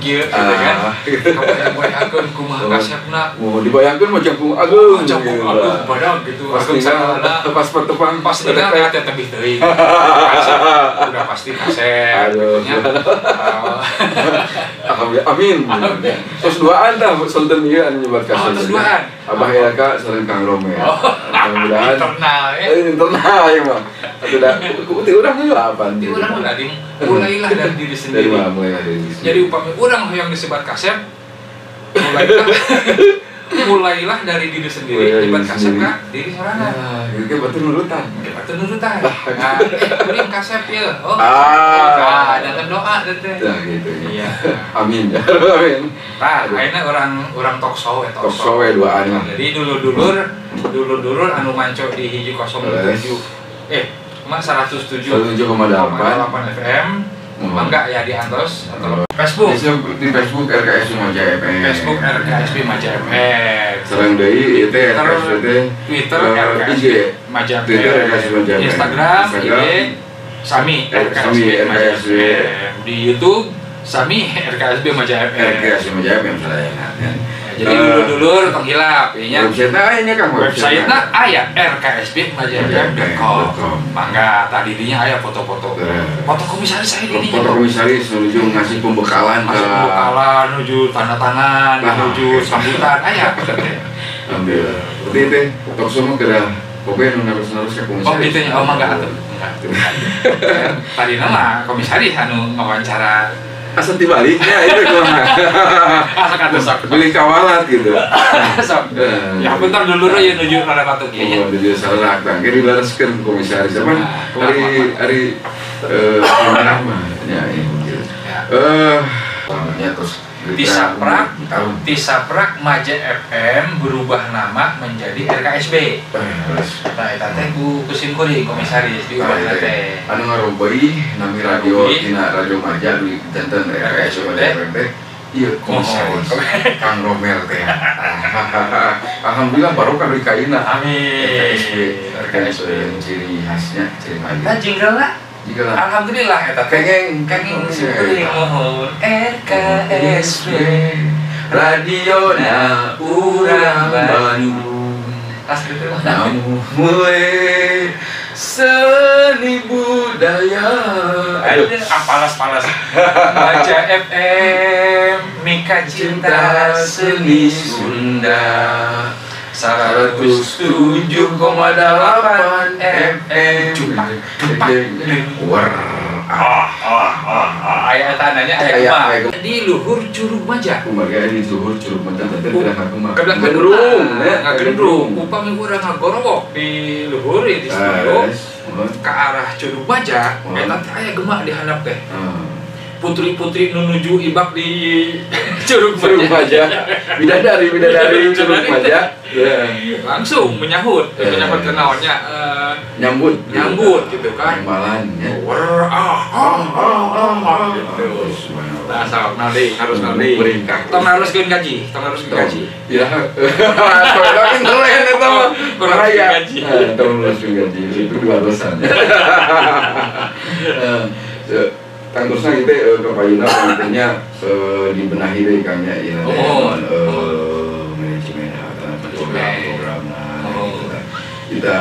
kieu gitu kan. Kamu yang bayangkeun kumaha kasepna. Mau dibayangkeun mah Campung Agung. Campung Agung badag gitu. Agung sana pas pertemuan pas dengar teh tebih teuing. Udah pasti kasep. Aduh. Alhamdulillah amin. Terus duaan tah Sultan ieu anu nyebar kasep. Terus duaan. Abah Elka sareng Kang Romel. Mudah-mudahan internal ya. Internal ya mah. Atuh da ku urang heula apa? Di urang udah mulailah dari diri sendiri. Mulai dari diri. Jadi upami urang yang disebat kasep mulailah dari diri sendiri, nyebat kasep ka diri sorangan. Nah, itu kan batu nurutan. Batu nurutan. Nah, kuring kasep ya. Oh. Nah, dengan doa teh. Nah, gitu. Iya. Amin. Amin. Tah, ayeuna orang talk show ya Talk show we duaan. Jadi dulur-dulur anu manco di hiji 07. Mah 107,8 FM. Mangga ya di Antos atau Facebook. Di Facebook RKS Maja FM. Facebook RKSB Maja FM. Sareng deui ieu teh RKS teh Twitter RKSB Maja FM. Instagram IG Sami RKSB Maja FM. Di YouTube Sami RKSB Maja FM. RKS Maja FM saya. Jadi dulur-dulur tong hilap nya. Website nya Kang. Website-na aya rksbmajafm.com. Mangga tadi dinya aya foto-foto. Foto komisaris saya di dinya. Foto komisaris menuju ngasih pembekalan ke menuju tanda tangan, menuju sambutan aya teh. Alhamdulillah. Berarti teh talk show mah geura pokoknya narus-narus ka komisaris. Oh, kitu nya. Oh, mangga atuh. Tadi nama komisaris anu ngawawancara asal dibaliknya itu kumaha. Asa kata sok Beli kawalat gitu. sok. Ya bentar dulu ya nuju rada batu kieu nya. Oh, di salah tang. Kiri dilaraskeun komisaris apa? Hari mana mah ya ini. Ya terus Tisaprak Maja FM berubah nama menjadi RKSB. Nah, eta teh ku kuring komisaris diubah teh. Anu ngarompeuy nami radio tina Radio Maja di janten RKSB teh. Iya, komisaris Kang Romel teh. Alhamdulillah barokah di kaina. Amin. RKSB ciri khasnya ciri Maja. Nah, jinggela alhamdulillah eta kengeng kuring mohon RKSB radiona urang Bandung. Asli teh Namu mulai seni budaya. Aduh, palas Maja FM Mika Cinta Seni Sunda 107,8 FM. Aya tanahnya aya di luhur Curug Maja. Kumaha di luhur Curug Maja teh Kedah gendrung, gendrung. Upami urang ngagorowok di luhur di studio ke arah Curug Maja, eta teh aya gemak di handap teh. Putri-putri menuju ibak di Curug Maja. Bidadari Curug Maja. Langsung menyambut kenaonnya nyambut gitu kan. Malan ya. Gitu. Nah, sok nanti harus tong haruskeun gaji. Ya. Soalnya keren eta mah. Kurang gaji. Tong haruskeun gaji itu dua dosan. Terusnya kita ke Payuna pentingnya dibenahi deh kayaknya ya manajemen program kita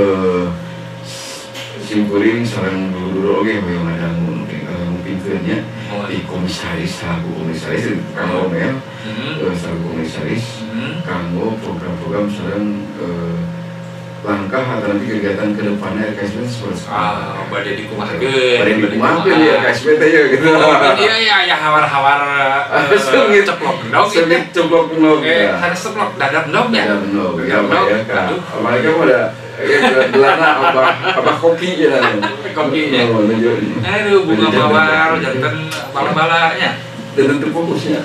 simkuring sareng dulu oke yang ada mungkin kerja di komisaris Kang Romel sareng komisaris kanggo program-program sareng langkah atau nanti kegiatan ke depannya RKSB seperti apa? Badai dikumahkeun ya RKSB teh ya gitu. Iya ya hawar-hawar ceplok endog gitu. Ceplok endog. Harus ceplok dadap endog ya. Dadap endog. Ya kan. Apalagi kamu ada gelana apa kopi ya kan. Kopi ya. Aduh bunga mawar janten bala-balanya. Dan terfokusnya.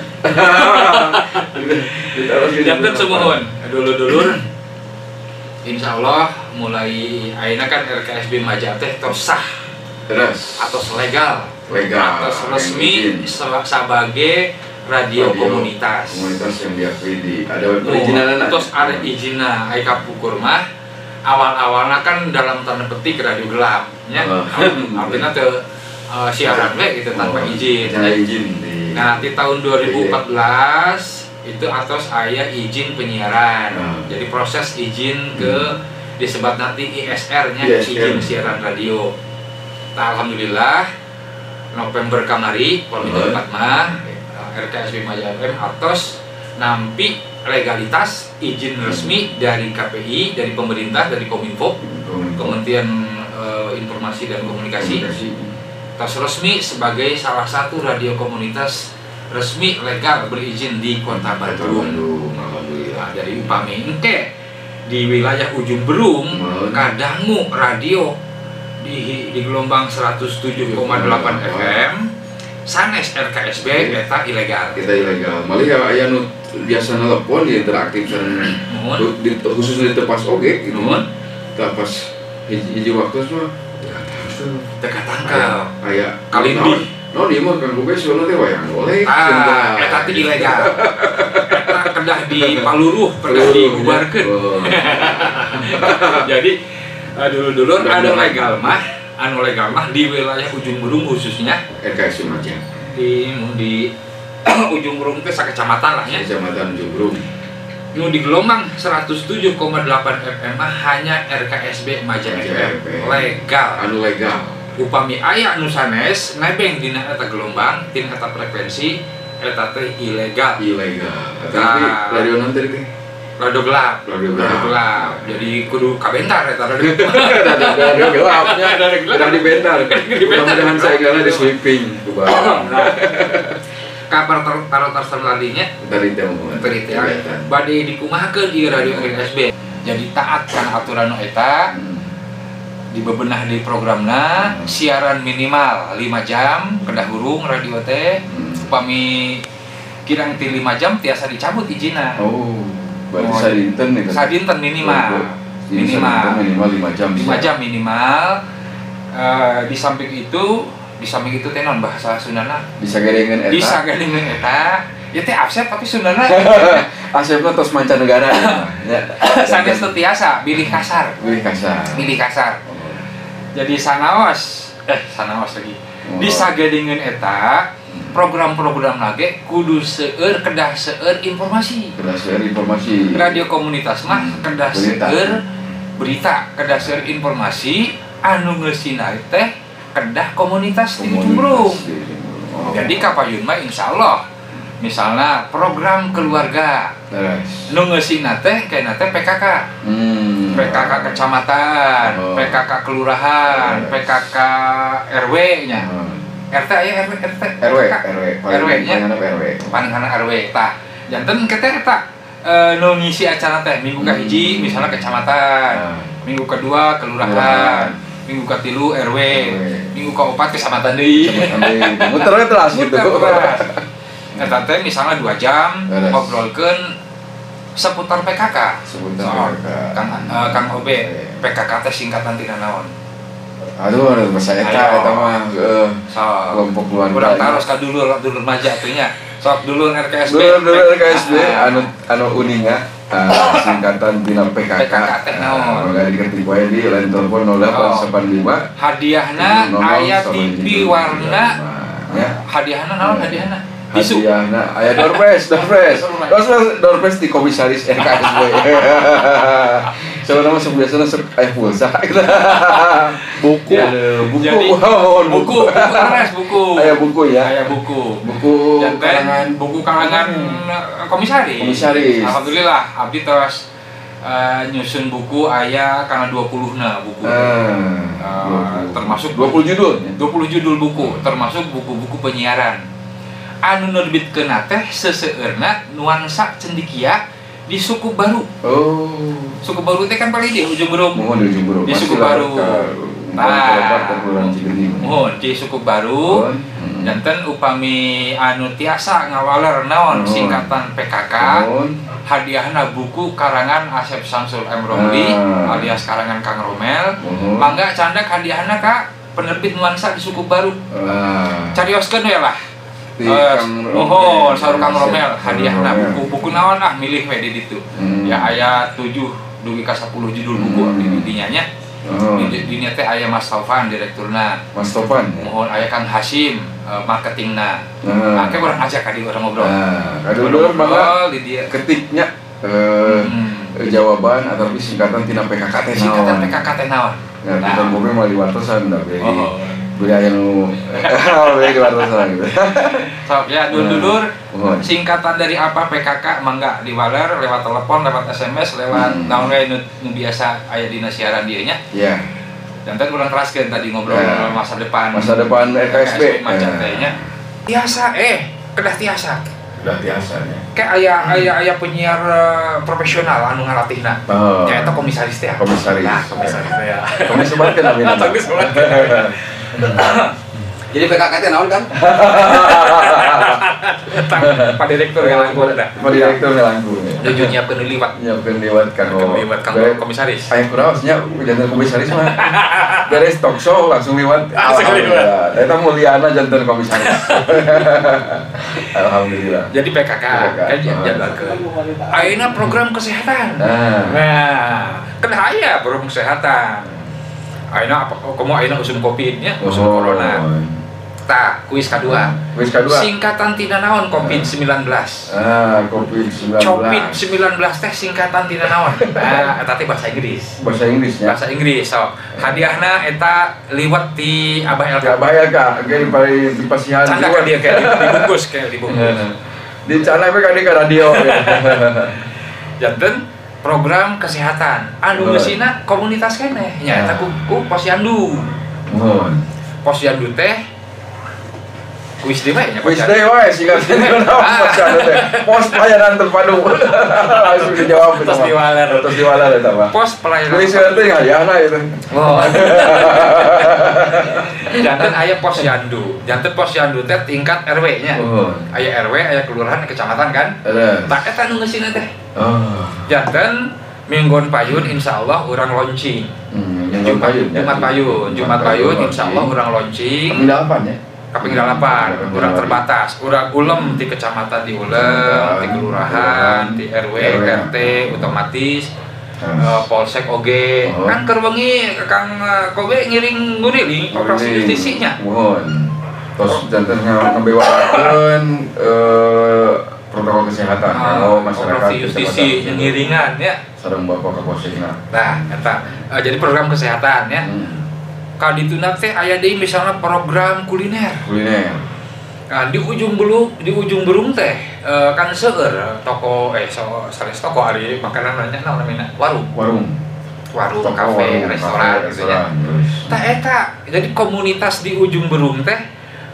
Janten semohon. Dulur-dulur Insya Allah mulai ayeuna kan RKSB Maja teh tos sah atau legal atau resmi sebagai radio komunitas yang diakui di ada perizinan terus ada izinna aya kapukur mah awal-awalnya kan dalam tanda petik radio gelap nya artinya teu siaran we gitu tanpa izin Nah di tahun 2014 itu atas aya izin penyiaran. Jadi proses izin ke disebut nanti ISR-nya, izin siaran radio. Nah, alhamdulillah November kamari Komite 4 mah RKSB Maja FM atos nampi legalitas izin resmi dari KPI, dari pemerintah, dari Kominfo, Kementerian Informasi dan Komunikasi. Tos resmi sebagai salah satu radio komunitas resmi legal berizin di Kota Bandung. Nah, dari upami engke di wilayah Ujung Berung kadangu radio di gelombang 107,8 FM sanes RKSB eta ilegal. Kita ilegal. Malah aya nu biasa nelpon di interaktif khusus di tepas oge gitu. Pas hiji waktu mah teka tangkal. Aya kalindi. No di mah kan profesional teh wayang golek. Eta teh ilegal. Eta kedah dipaluruh, kedah dibubarkeun. Jadi dulu anu legal mah di wilayah Ujung Berung khususnya RKSB Maja. Di Ujung Berung teh sakecamatan lah ya. Kecamatan Ujung Berung. Nu di gelombang 107,8 FM mah hanya RKSB Maja FM legal. Anu legal. Upami aya anu sanes nebeng dina eta gelombang, tina eta frekuensi eta teh ilegal. Tapi radio nanti teh radio gelap. Jadi kudu kabentar eta radio gelapnya udah dibentar. Mudah-mudahan saeungna di sweeping ku barang. Kabar tarotar dari teh bade dikumahakeun di radio RKSB. Jadi taat kana aturan eta dibebenah di programna siaran minimal 5 jam kedah hurung radio teh upami kirang ti 5 jam tiasa dicabut izinna. Berarti sadinten minimal 5 jam. 5 jam minimal. Di samping itu teh non bahasa Sundana disagedengeun eta ya teh absen tapi Sundana asepna tos mancanegara ya. Sanes teu tiasa bilih kasar. Jadi sanaos lagi disagedengeun eta program-program lagi kudu kedah seueur informasi. Radio komunitas mah kedah seueur berita, kedah seueur informasi anu ngeusina teh kedah komunitas di Ujung Berung. Jadi kapayun mah insyaallah misalnya program keluarga nu ngeusina teh kayak teh PKK. PKK kecamatan, PKK kelurahan, PKK RW nya. RT aya RW nya. Paningana RW tah. Janten keteh eta nu ngisi acara teh minggu kahiji misalnya kecamatan, minggu kedua kelurahan, minggu katilu RW, minggu kaopat kecamatan deui. Muter terus gitu. Eta teh misalnya 2 jam ngobrolkeun seputar PKK. Kang OB, PKK teh singkatan tina naon? Aduh, bahasa eta mah kelompok keluarga. Urang taros ka dulur maja teh nya. Sok dulur RKSB. Dulur RKSB anu uninga singkatan tina PKK. PKK teh naon? Udah dikerti poe di lain telepon 0885. Hadiahna aya TV warna. Hadiahna naon hadiahna? Hadiahna aya doorpress di komisaris RKSB. Sebenarnya masuk biasanya aya pulsa. Buku. Aya buku ya. Buku kalangan komisaris. Alhamdulillah abdi tos nyusun buku aya kana 20-na buku. Termasuk 20 judul. 20 judul buku, termasuk buku-buku penyiaran. Anu nerbitkeun teh seseueurna nuansa cendikia di Suku Baru. Suku Baru teh kan paling di Ujung Berung. Di Suku Baru. Di Suku Baru. Janten upami anu tiasa ngawaler naon singkatan PKK. Hadiahna buku karangan Asep Samsul M. Romli alias karangan Kang Romel. Mangga candak hadiahna ka penerbit nuansa di Suku Baru. Carioskeun we lah. Saur Kang Romel hadiahna buku naon milih we di ditu. Ya aya 7 dugi ka 10 judul buku di dinya nya. Di teh aya Mas Taufan direkturna. Mas Taufan. Mohon aya Kang Hasyim marketingna. Make urang ajak ka di urang ngobrol. Dulu mangga ketiknya jawaban atau singkatan tina PKK teh naon. Singkatan PKK teh naon. Nah, kita bobe mah diwartosan da beli. Beli aya nu beli diwartosan gitu. Sok ya dulur-dulur singkatan dari apa PKK mangga diwaler lewat telepon, lewat SMS, lewat naon we nu biasa aya dina siaran dieu nya. Iya. Dan tadi urang teraskeun tadi ngobrol masa depan RKSB macam teh nya. Tiasa kedah tiasa. Udah biasanya. Kayak aya penyiar profesional anu ngalatihna. Ya eta komisaris teh. Komisaris. Nah, komisaris teh ya. Komisaris teh namanya. Jadi PKK teh naon kan? Pak Direktur ngalangkung dah. Pak Direktur ngalangkung. Nuju nyiapkeun liwat. Nyiapkeun liwat kanggo komisaris. Aya kurawasnya janten komisaris mah. Beres talk show langsung liwat. Alhamdulillah. Eta muliana janten komisaris. Alhamdulillah. Jadi PKK kan jadwalkeun. Ayeuna program kesehatan. Nah, kan aya program kesehatan. Ayeuna ayeuna usum Covid nya, usum corona. Tah, kuis kedua. Kuis kedua. Singkatan tina naon Covid-19. Covid-19. Covid-19 teh singkatan tina naon? Eta teh bahasa Inggris. Bahasa Inggrisnya. Bahasa Inggris. So, hadiahna eta liwat di Abah LK. Abah LK, ge di pasihan. Canda ka dia kayak dibungkus. Di cana we ka di radio. Janten program kesehatan. Anu geusina komunitas keneh. Nya eta ku Posyandu. Posyandu teh kuis deui nya. Kuis deui wae singkatna Posyandu teh. Pos pelayanan terpadu. Langsung dijawab terus diwaler. Terus diwaler eta mah. Pos pelayanan. Kuis teh hadiahna itu. Janten aya Posyandu. Janten Posyandu teh tingkat RW nya. Aya RW, aya kelurahan, kecamatan kan? Tak eta nu geusina teh. Janten Minggon Payun insyaallah urang launching. Jumat Payun insyaallah urang launching. Kaping 8, urang terbatas, urang ulem di kecamatan di ulem, di kelurahan, di RW, RT otomatis. Polsek oge kan keur wengi Kang Kobe ngiring nguriling operasi justisinya. Terus janten ngabewakeun protokol kesehatan kalau masyarakat operasi justisi ngiringan ya sareng Bapak Kapolsekna. Nah, eta jadi program kesehatan ya. Ka dituna teh aya deui misalnya program kuliner. Nah, di ujung berung teh kan seueur toko sanes toko ari makanan nanya naon namina warung kafe restoran gitu nya. Tah eta jadi komunitas di ujung berung teh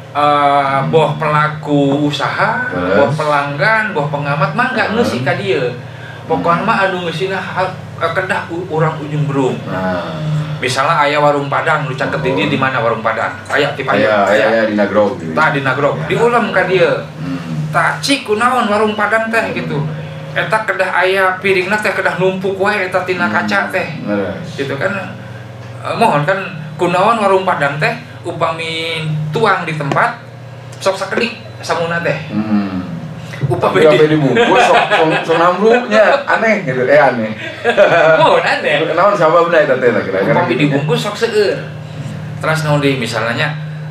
boh pelaku usaha, boh pelanggan, boh pengamat mangga ngeusi ka dieu. Pokona mah anu ngeusina kedah urang ujung berung. Misalnya aya warung Padang, lu caket di mana warung Padang? Aya ti Payun. Aya di Nagrog. Tah di Nagrog. Diulam ka dieu. Tah cik kunaon warung Padang teh gitu. Eta kedah aya piringna teh kedah numpuk wae eta tina kaca teh. Gitu kan. Mohon kan kunaon warung Padang teh upami tuang di tempat sok sakedik samuna teh. Upami dibungkus sok nambruknya aneh gitu aneh. Mohon aneh. Naon sababna eta teh kira-kira. Upami dibungkus sok seueur. Terus naon deui misalnya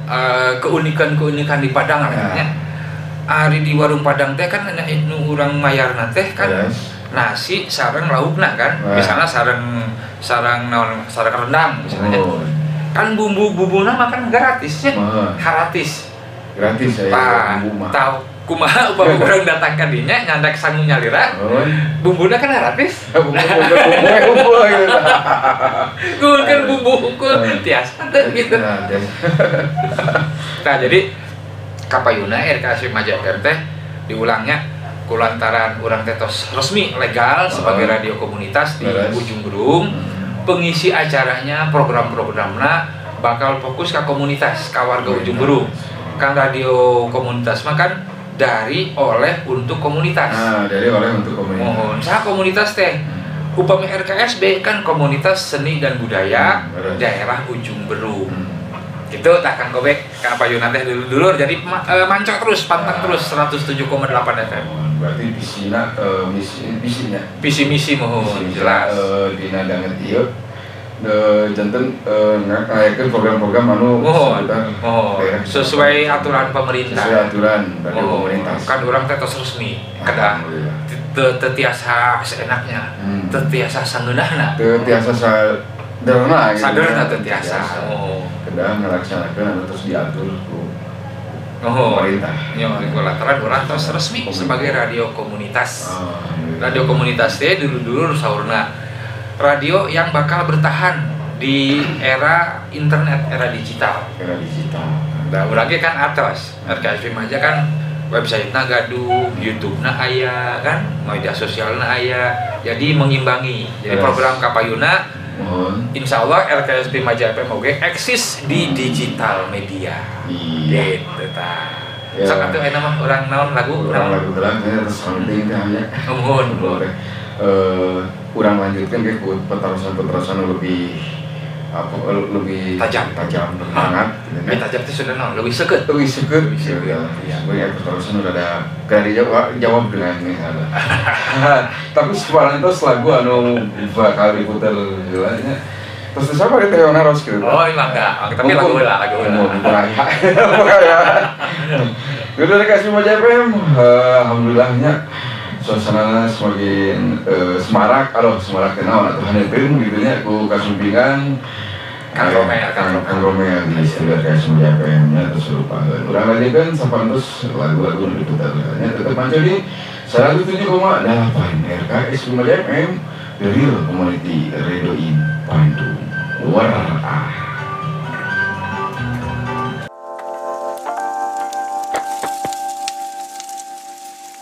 keunikan di Padang nya. Ari di warung Padang teh kan nu urang mayarna teh kan nasi sareng laukna kan. Misalnya sareng rendang misalnya. Kan bumbu-bumbuna makan gratis nya. Gratis ya bumbu mah. Tahu kumaha upami urang datang ka dinya nyandak sangu nyalira. Bumbuna kan gratis. Bumbu gitu. Kan bumbu unggul tiasa gitu. Nah, jadi kapayuna RKSB Majaker teh diulangnya kulantaran urang teh tos resmi legal sebagai radio komunitas di ujung berung. Pengisi acaranya program-programna bakal fokus ke komunitas ke warga ujung berung. Kan radio komunitas mah kan dari oleh untuk komunitas. Dari oleh untuk komunitas. Mohon saha komunitas teh upami RKSB kan komunitas seni dan budaya daerah ujung berung. Gitu tak Kang Kobe ka Payun teh dulur jadi mancok terus pantang terus 107,8 FM. Berarti misinya visi misi mohon jelas dina danget ieu janten ngayakeun program-program anu sesuai aturan pemerintah. Sesuai aturan dari pemerintah. Kan urang teh tos resmi, kedah teu tiasa seenaknya, teu tiasa sangeunahna. Teu tiasa saderna gitu. Saderna teu tiasa. Kedah ngalaksanakeun anu terus diatur ku pemerintah. Ya, lantaran urang tos resmi sebagai radio komunitas. Radio komunitas teh dulu saurna radio yang bakal bertahan di era internet, era digital. Nah, urang ge kan atos, RKSP aja kan website-na gaduh, YouTube-na aya kan, media sosialna aya. Jadi mengimbangi. Jadi program kapayuna insya Allah RKSP Maja FM oge eksis di digital media. Iya. Gitu ta. Sok atuh aya mah urang naon lagu terang terus penting teh nya. Kurang lanjutkan ke petarusan lebih tajam hangat. Tajam itu sudah lebih seket. Ya. Sebagai petarusan udah ada kali jawab dengan ini. Tapi sekarang itu lagu anu bakal diputar jelasnya. Terus siapa kita yang naros gitu? Oh ini enggak, tapi lagu lah. Udah dikasih Maja FM, alhamdulillahnya suasananya semakin semarak kenal atau haneutkeun gitu nya ku kasumpingan Kang Romea di studio KSM FM-nya terus lupa. Urang lanjutkeun sapantos lagu-lagu nu diputar nya tetep manca di 107,8 RKS Maja FM, The Real Community Radio in Bandung. Luar